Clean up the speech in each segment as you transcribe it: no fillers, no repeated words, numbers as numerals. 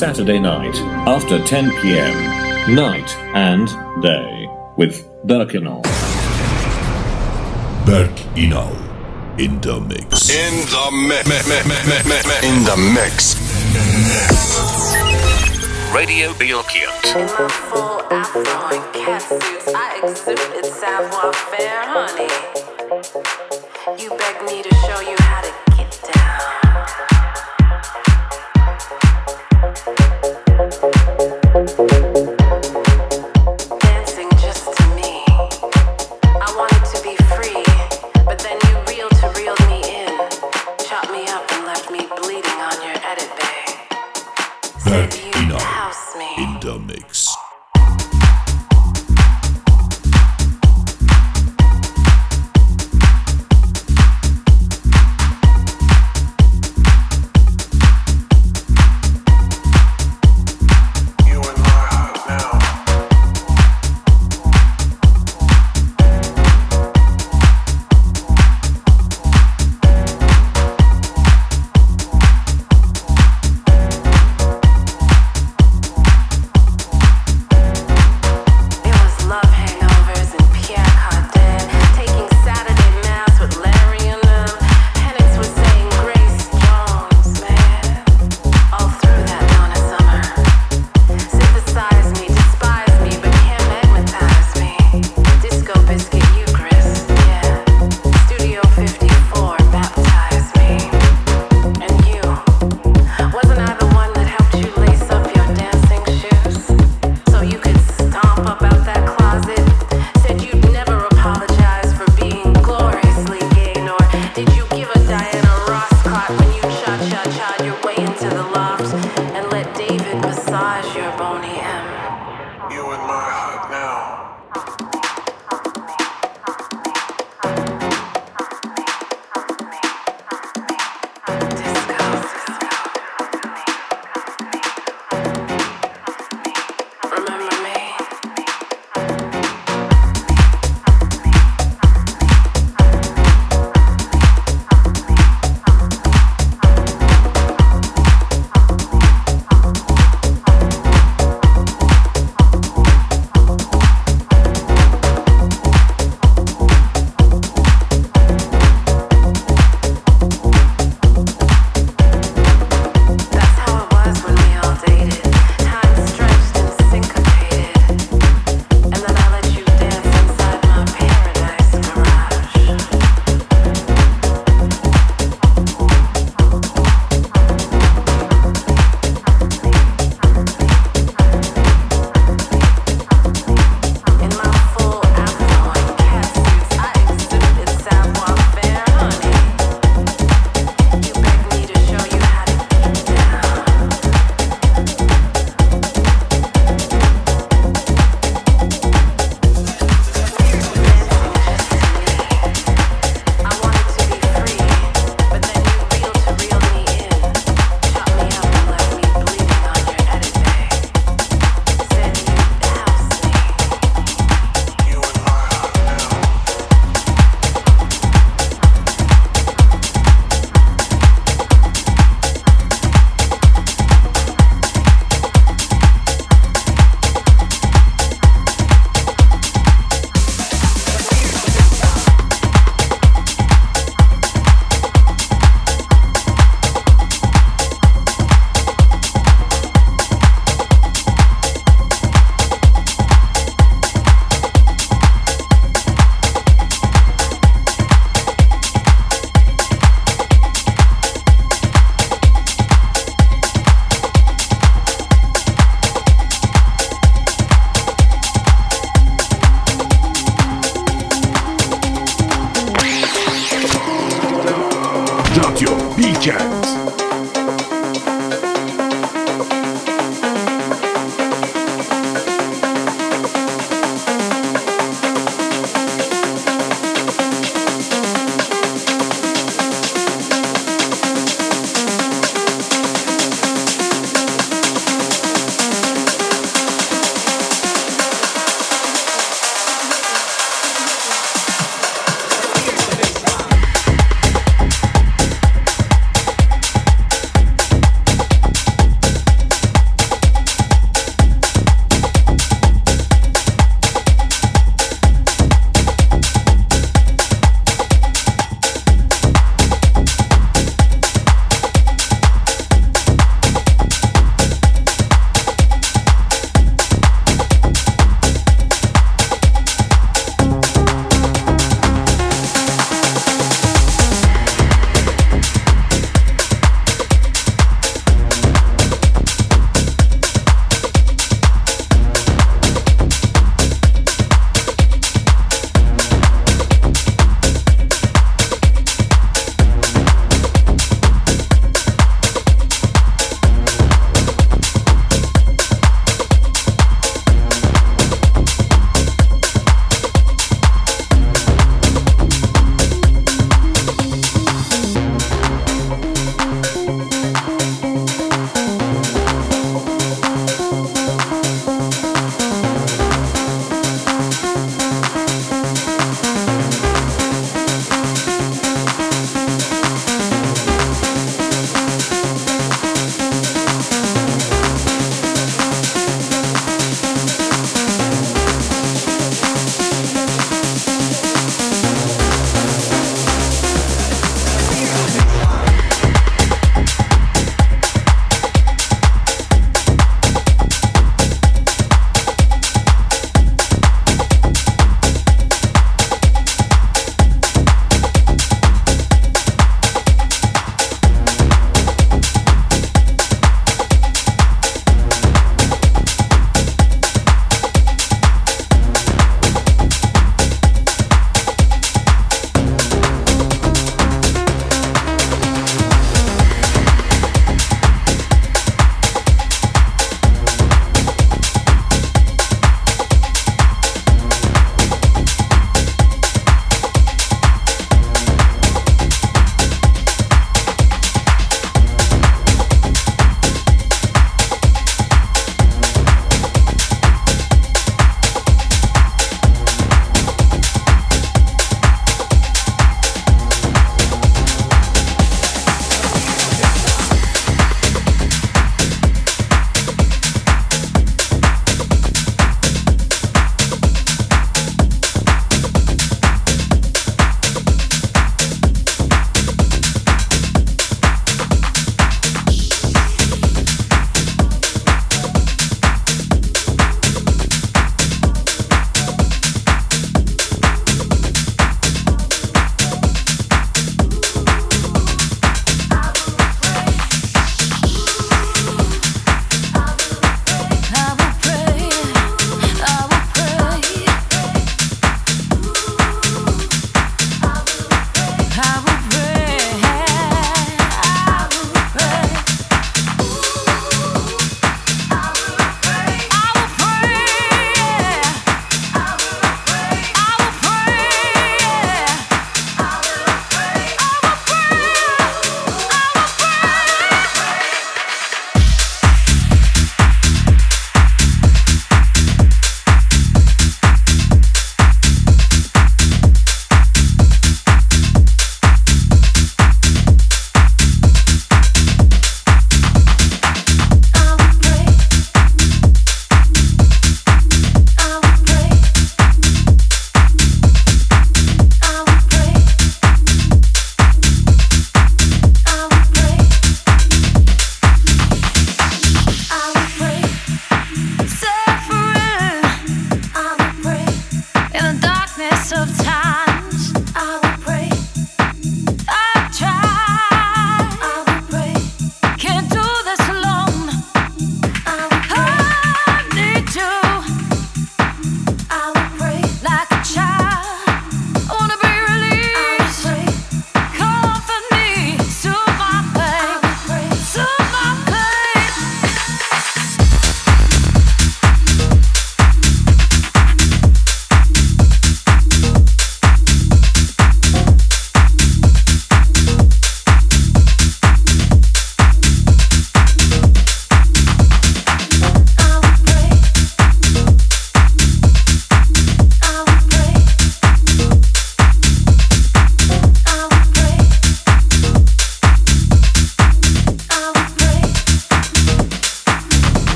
Saturday night after 10 p.m. Night and day with Berkinol. Berk Inal in the mix. In the mix. Radio Bilkent. In my full afro and cat suits, I exhibit savoir-faire, honey. You begged me to show you how to get down. Dancing just to me. I wanted to be free, but then you reeled me in. Chopped me up and left me bleeding on your edit bay. Berk Said Inal you'd house me. in the mix.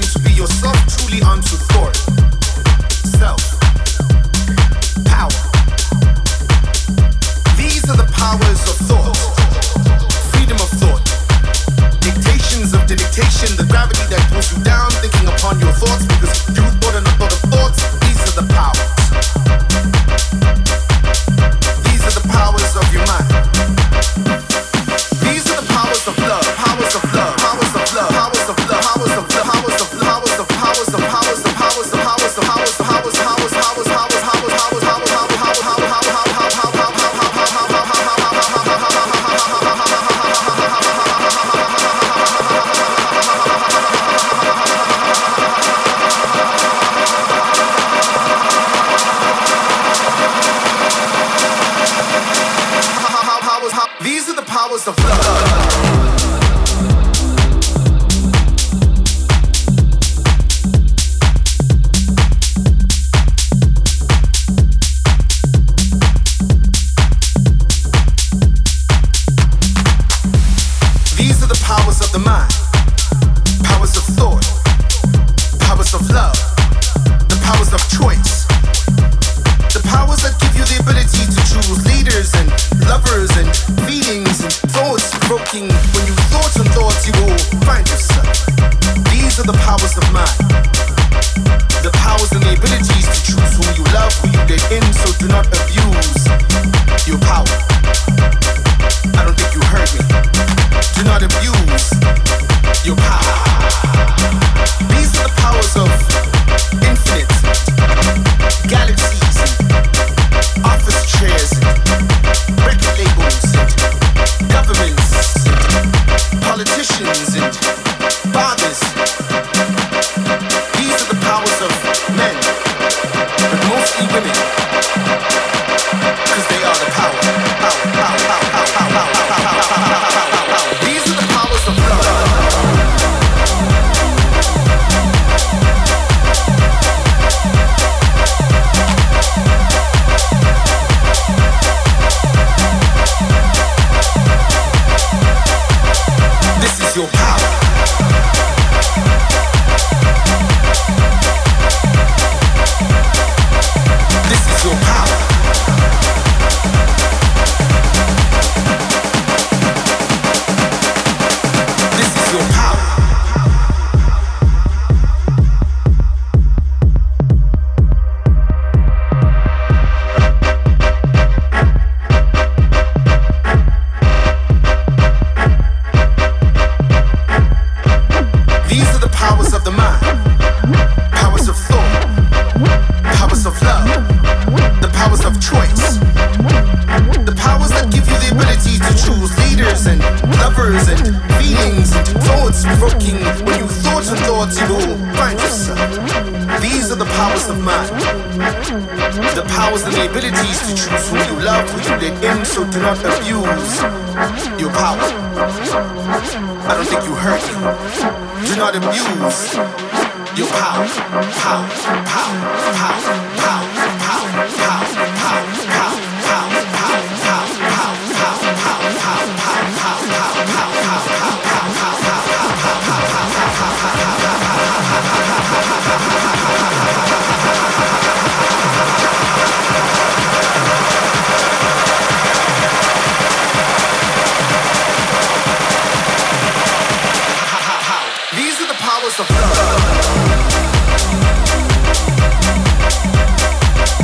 to be yourself truly unto thought. Self. Power. These are the powers of thought. Freedom of thought. Dictations of the dictation, the gravity that pulls you down, thinking upon your thoughts because you thought and a thought of thoughts. These are the powers. These are the powers of your mind. These are the powers of love, powers of love, powers of love, powers of love, powers of love, powers of powers of powers of powers of powers of powers of powers of powers powers powers powers powers These are the powers of love. These are the powers of the mind, powers of thought, powers of love, the powers of choice, the powers that give you the ability to choose leaders and lovers and feelings and thoughts provoking. When you thoughts and thoughts, you will find yourself. These are the powers of mind, the powers and the abilities to choose who you love, who you let in, so do not abuse your power. I don't think you heard me. Do not abuse your power. These are the powers of infinite galaxies, office chairs, record labels, and governments, and politicians, and fathers. These are the powers of men, but mostly women, because they are the power. These are the powers of love. This is your power. This is your power. This is your power. These are the powers of the mind, powers of thought, powers of love, the powers of choice, the powers that give you the ability to choose leaders and lovers and feelings and thoughts provoking. When you thoughts and thoughts, you will find yourself. These are the powers of mind, the powers and the abilities to choose who you love, who you let in, so do not abuse your power. I don't think you heard me. Do not abuse your power. Power, power, power, power, power, power, power, power, power, These are the powers of love.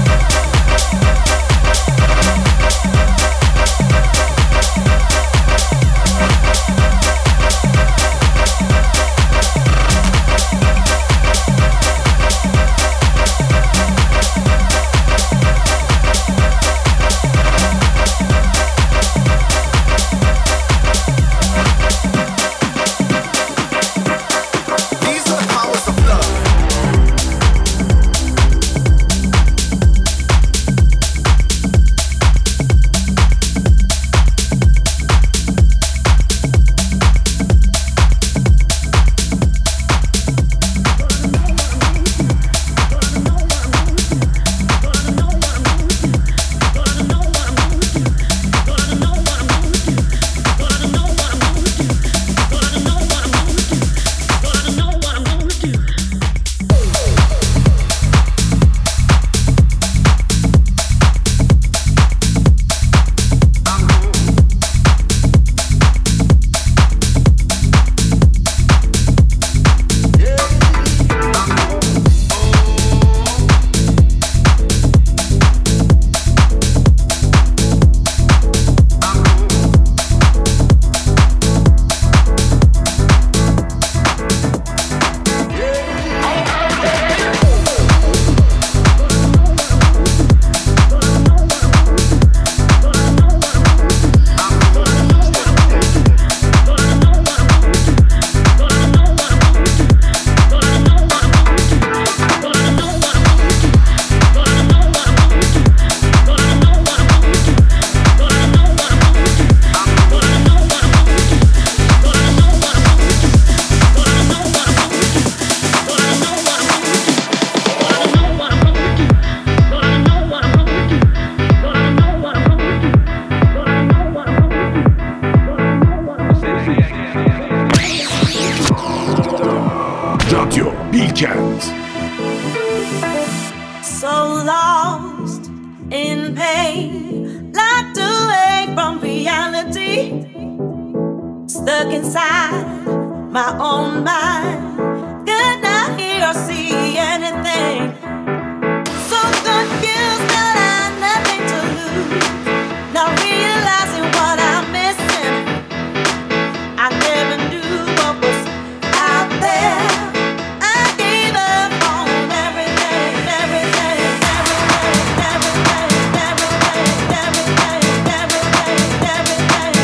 stuck inside my own mind. Could not hear or see anything. So confused that I had nothing to lose. Not realizing what I'm missing. I never knew what was out there. I gave up on everything, everything, everything, everything, everything, everything, everything, everything,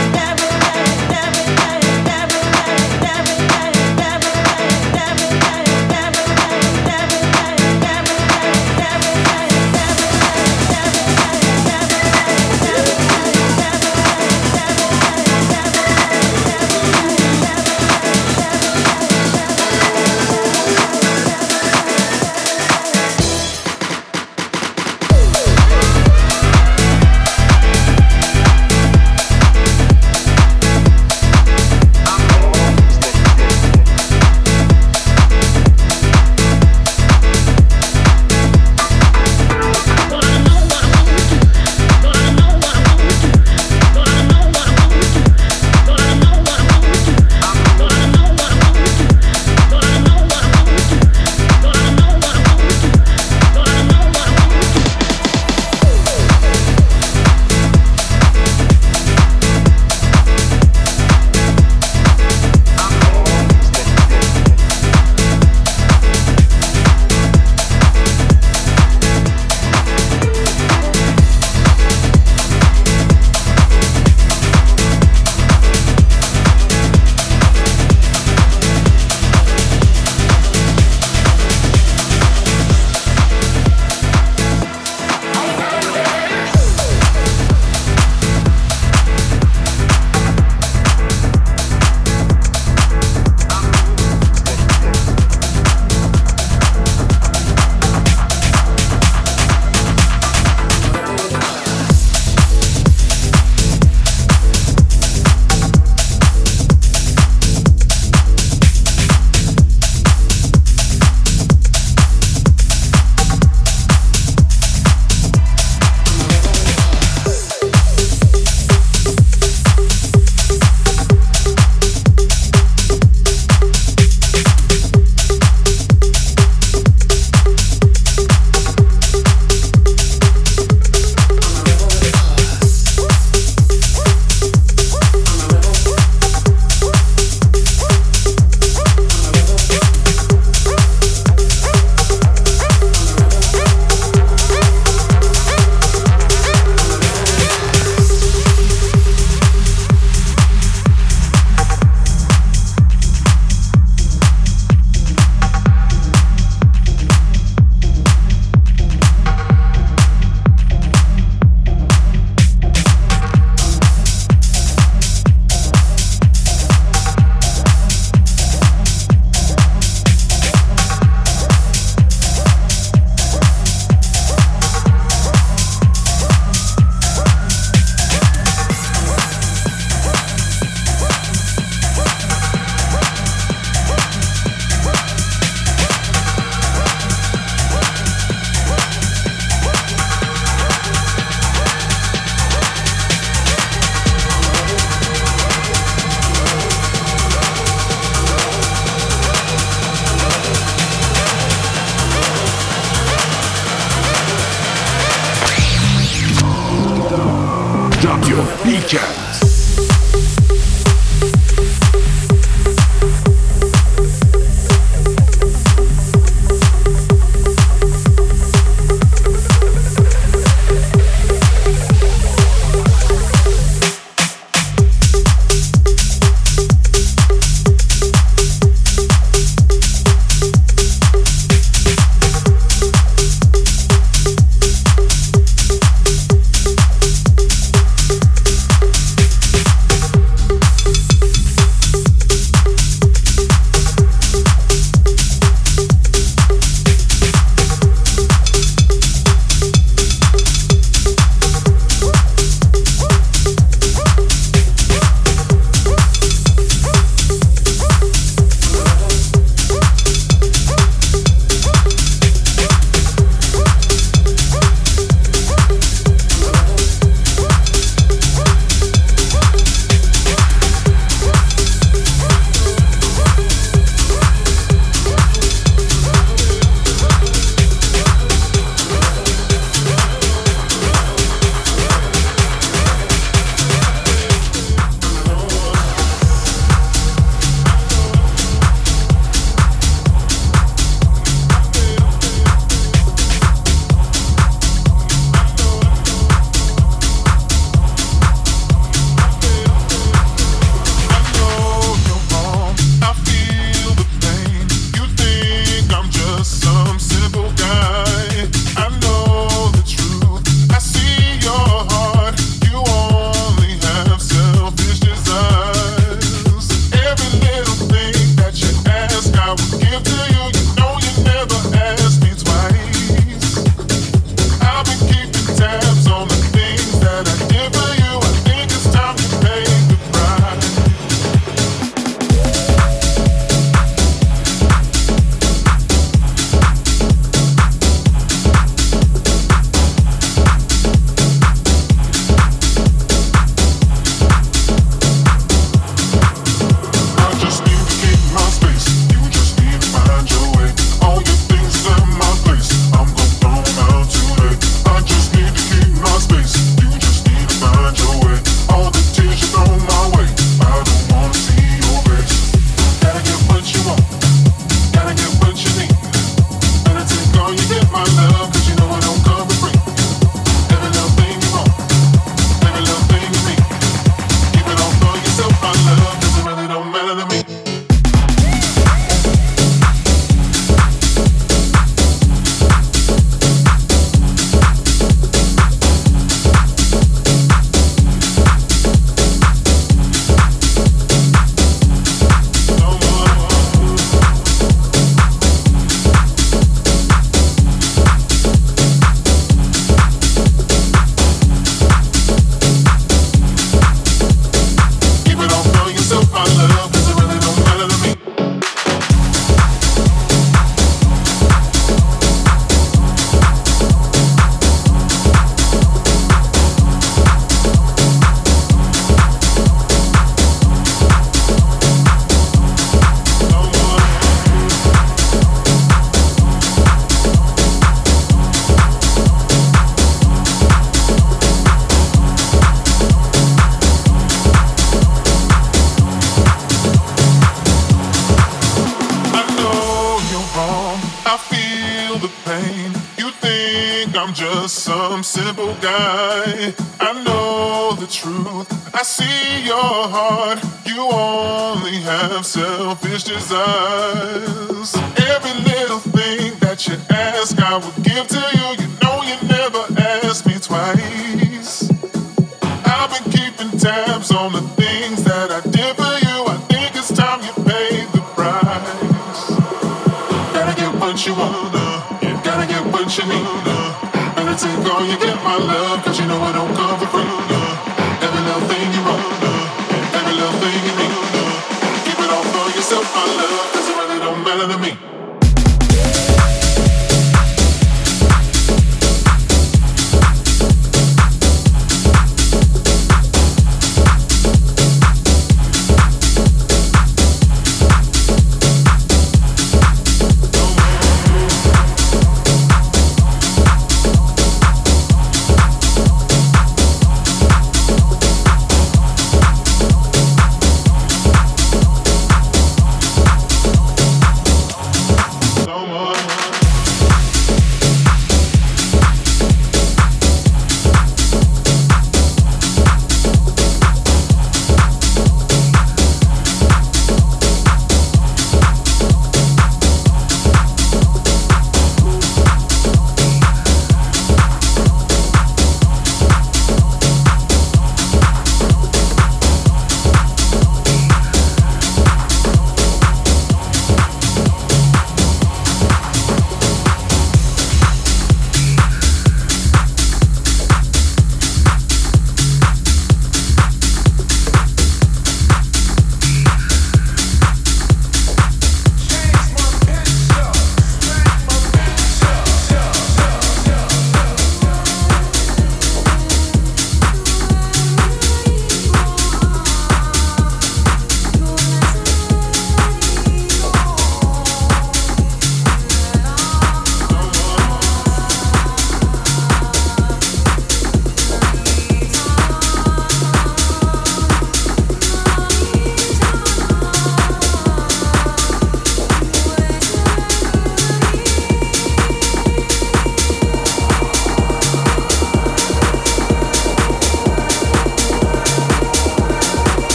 I'm just some simple guy. I know the truth, I see your heart. You only have selfish desires. Every little thing that you ask, I will give to you. You know you never asked me twice. I've been keeping tabs on the things that I did for you. I think it's time you pay the price. Gotta get what you wanna, you gotta get what you need. Better take all you get, my love, cause you know I don't come for free. Every little thing you want, every little thing you need. Keep it all for yourself, my love, cause it really don't matter to me.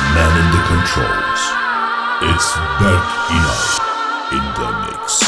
man in the controls. It's Berk Ino in the mix.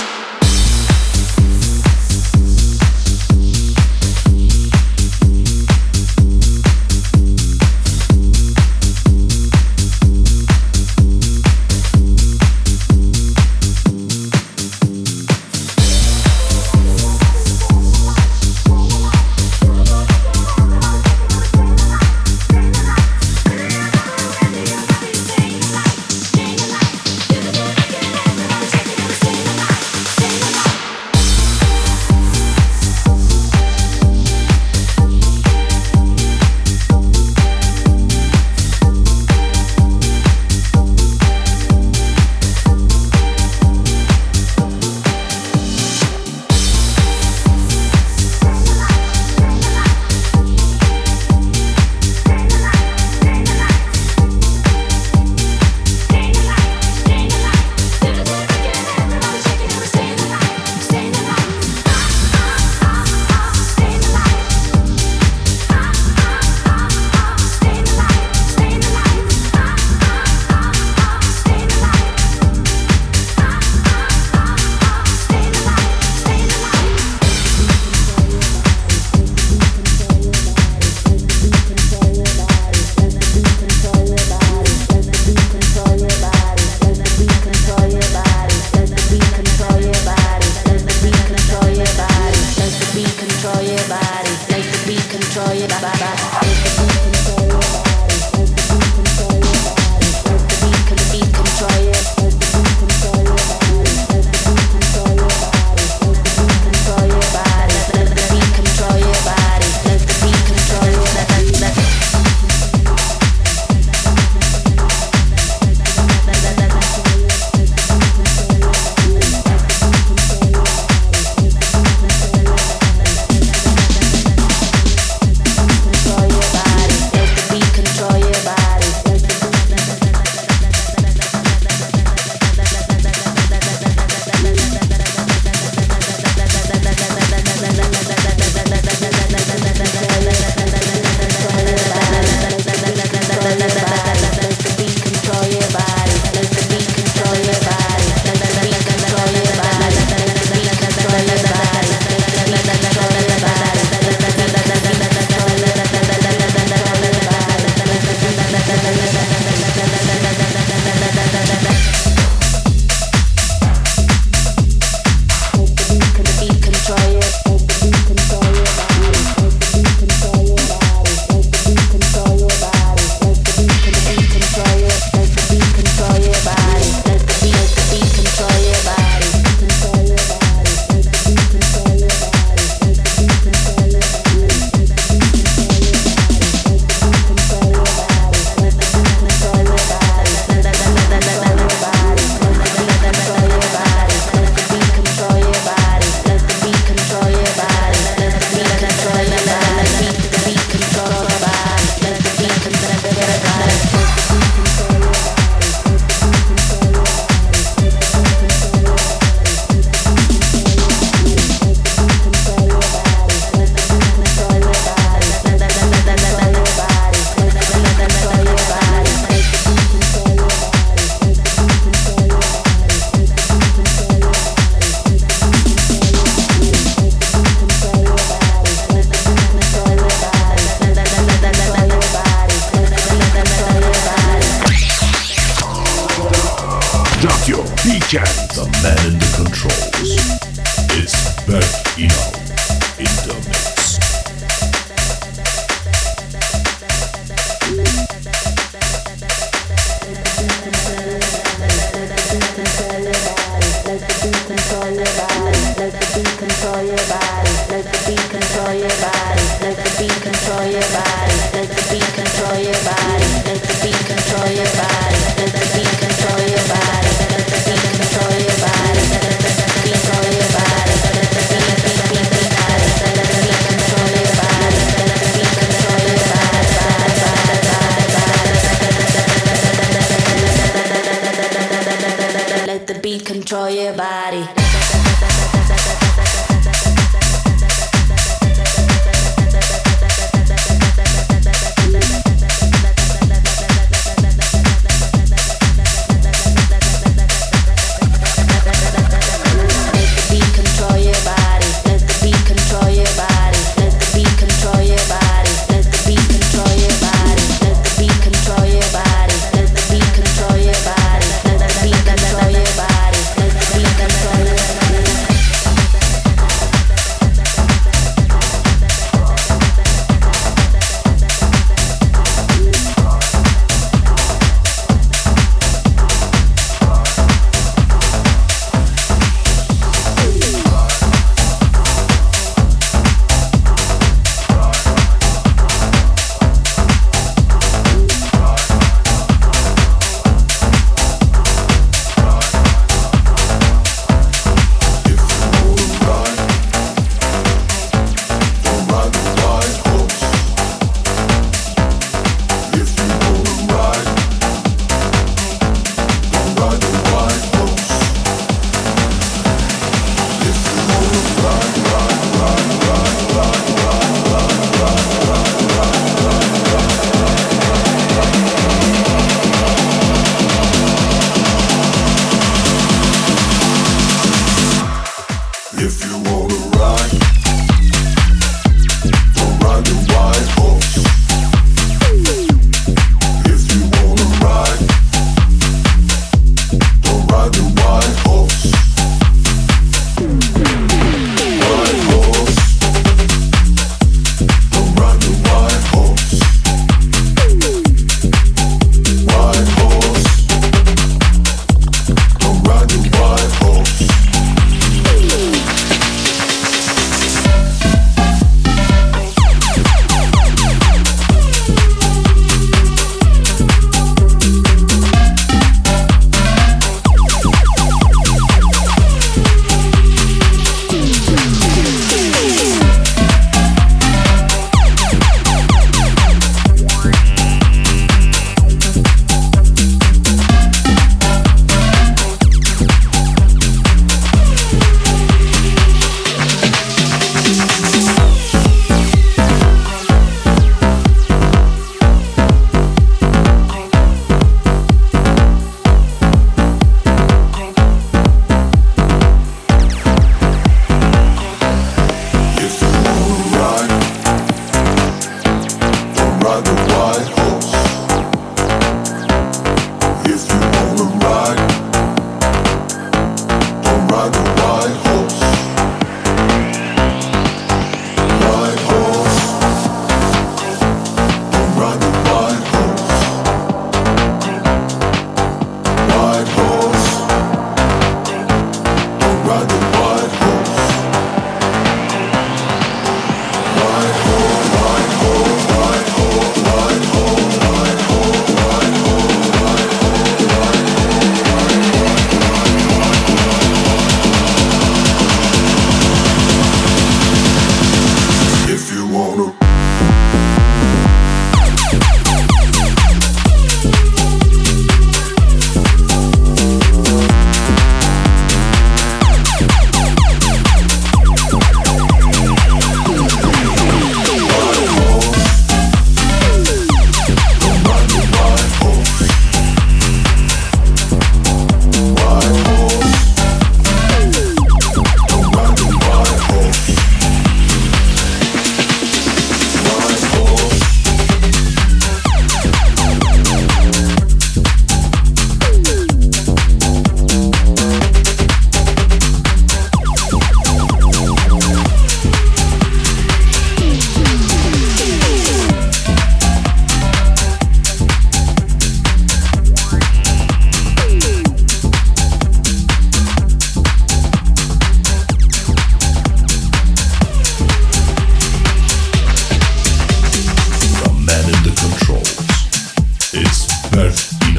The man in the controls. It's Berk Ino in the mix. Control your body.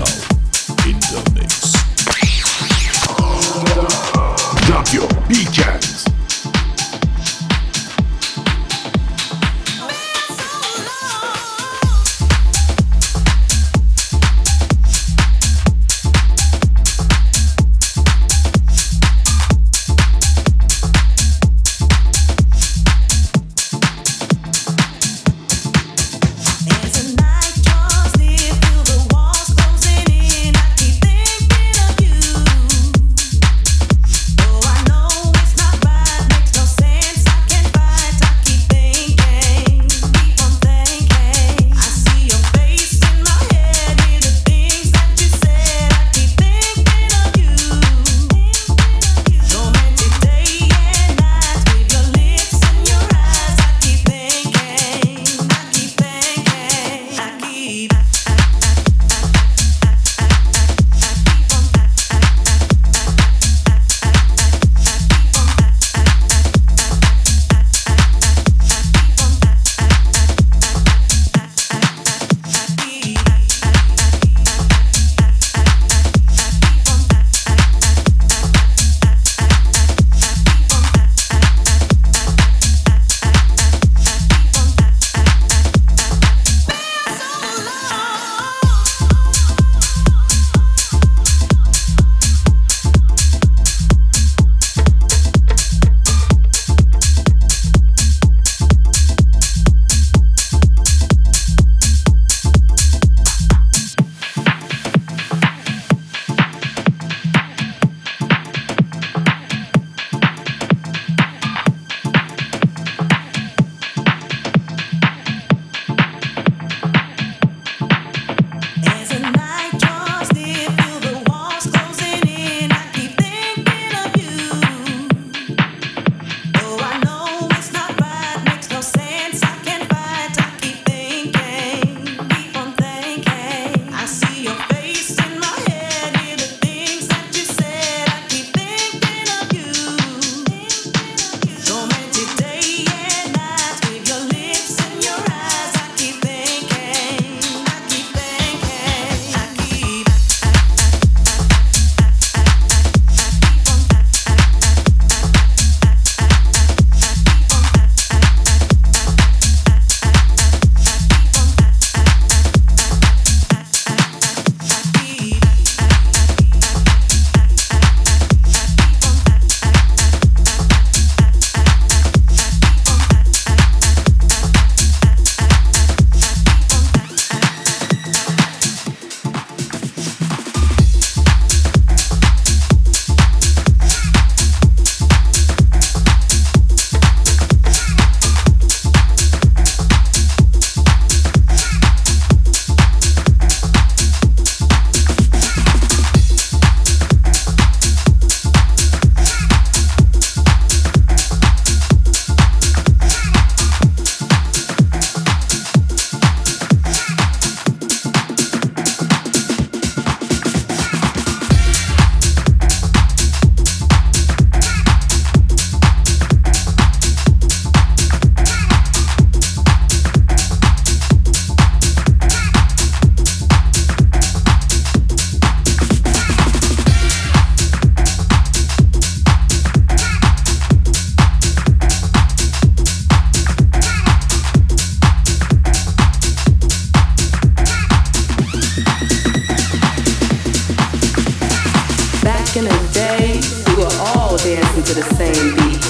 Eno in the mix. Tokyo Weekends. to the same beat.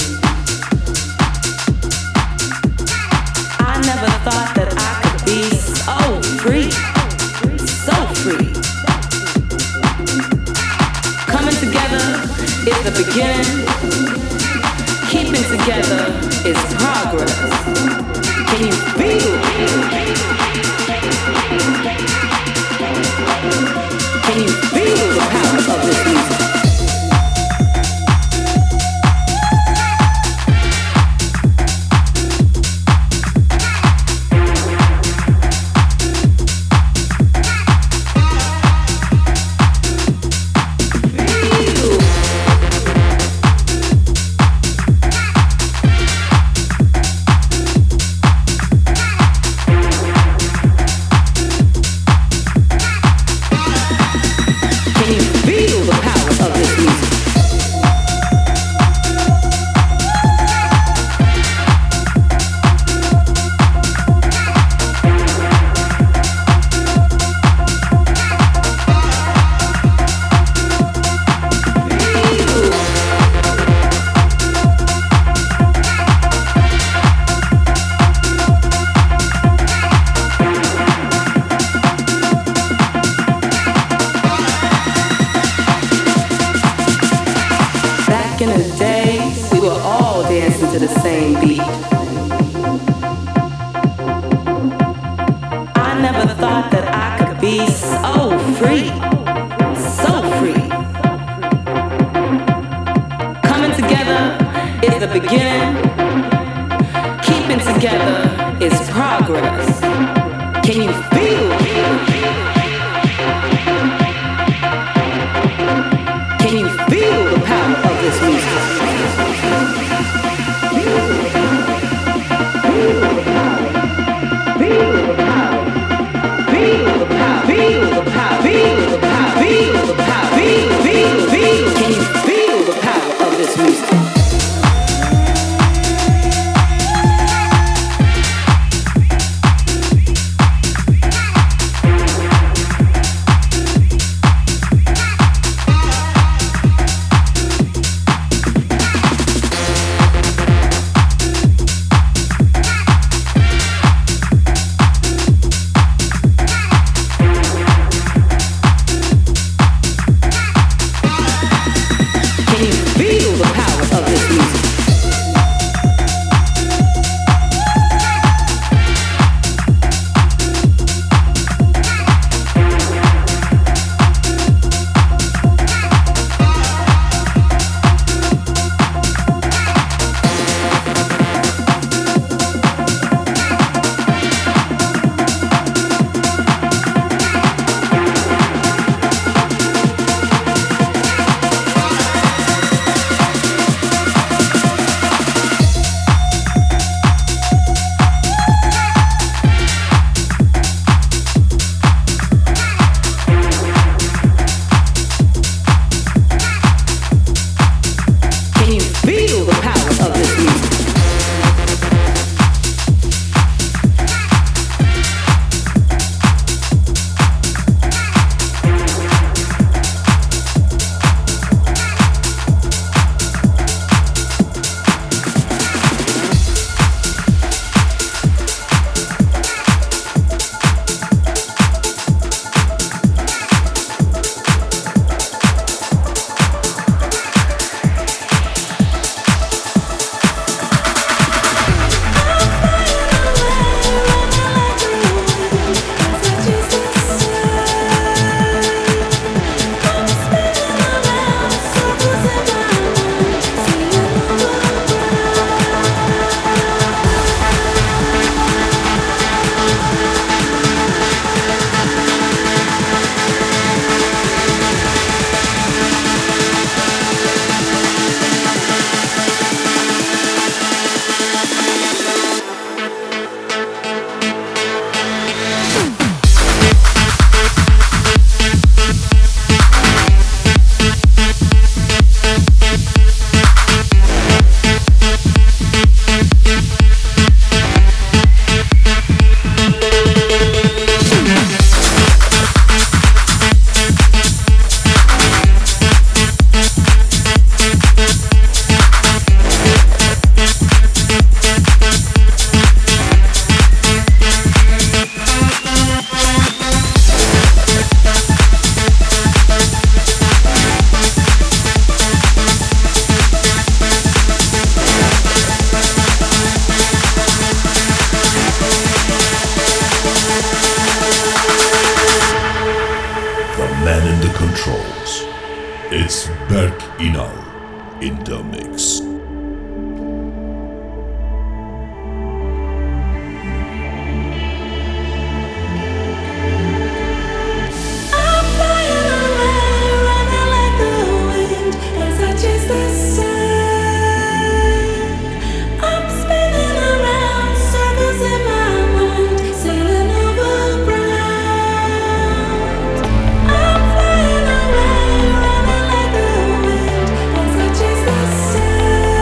I never thought that I could be so free, so free. Coming together is the beginning. Keeping together is progress. Can you feel? Can you feel the power of this music? be so free, so free. Coming together is the beginning. Keeping together is progress. Can you feel? Can you feel the power of this music? Feel the power. Feel the power. Feel the power. Feel the power. Feel the power. Feel the power. Feel the power. Feel. Can you feel the power of this music? Say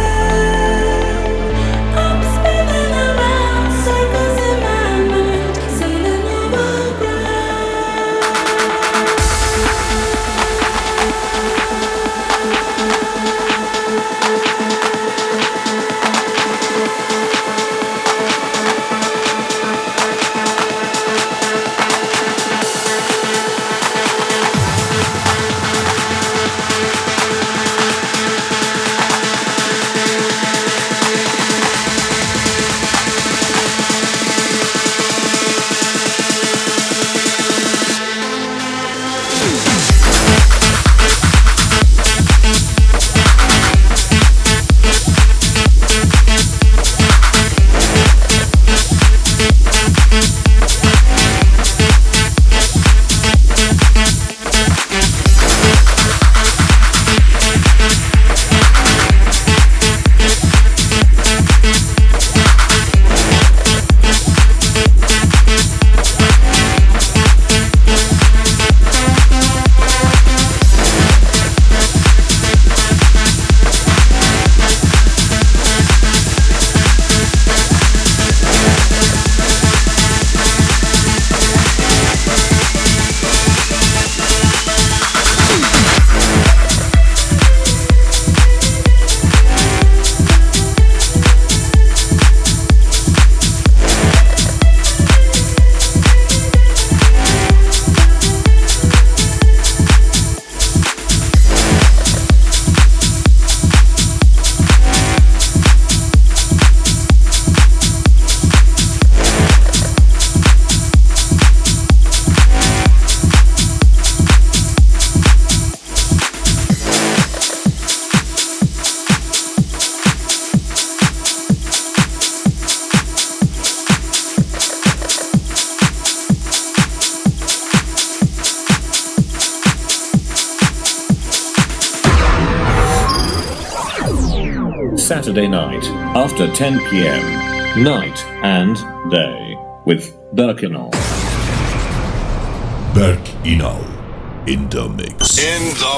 Saturday night after 10 p.m. Night and Day with Berk Inal. Berk Inal in the mix. In the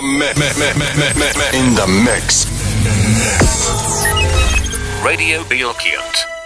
mix. In the mix. Radio Bylkiant.